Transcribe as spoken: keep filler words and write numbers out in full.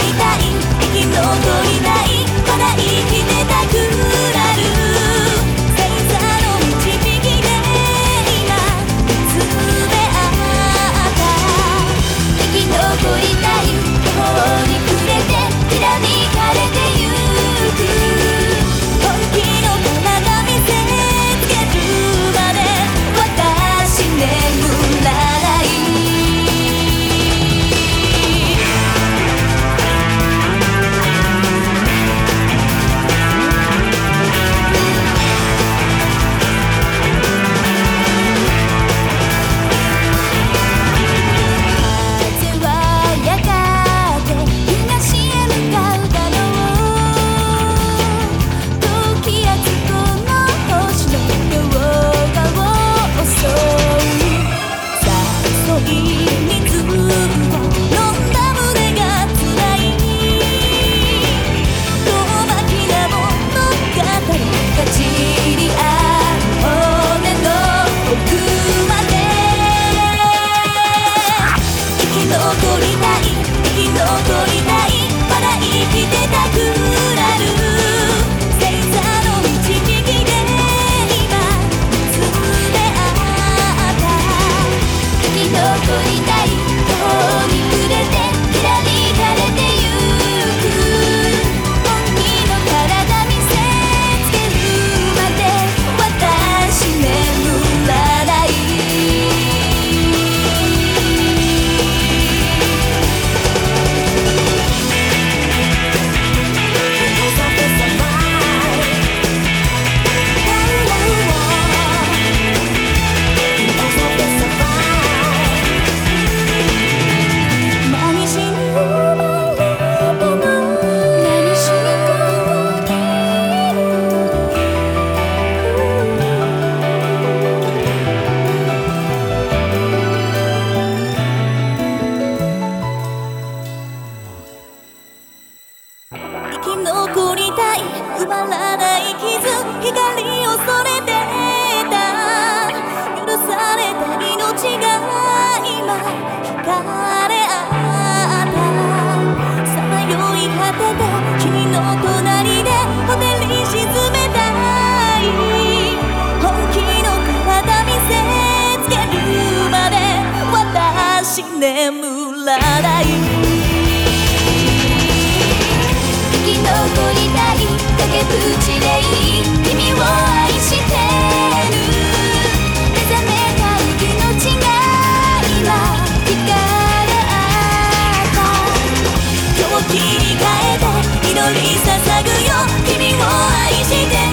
りたい生き残りたいまだ生きてたくなる星座の導きで今見つめ合った生き残りたい途方に暮れてきらめかれてゆく本気の体見せつけるまで私眠らない風はやがて東へ向かうだろう時やつこの星の両側を襲う誘い水を飲んだ胸が辛い遠巻きな物語かじり合う骨の奥まで生き残りたい生き残りたいまだ生きてたくなる星座の導きで今見つめ合った生き残りたい途方に暮れてきらめかれてゆく本気の体見せつけるまで私眠らない何しに生まれたの何しにここにいる生き残りたい埋まらない傷光を恐れてた許された命が今惹かれ合ったさまよい果てた君の隣でホテルに沈めたい本気の体見せつけるまで私眠らない生き残りたい崖っぷちでいい君を愛してる目覚めたい命が今惹かれ合った今日切り替えて祈り捧ぐよ君を愛してる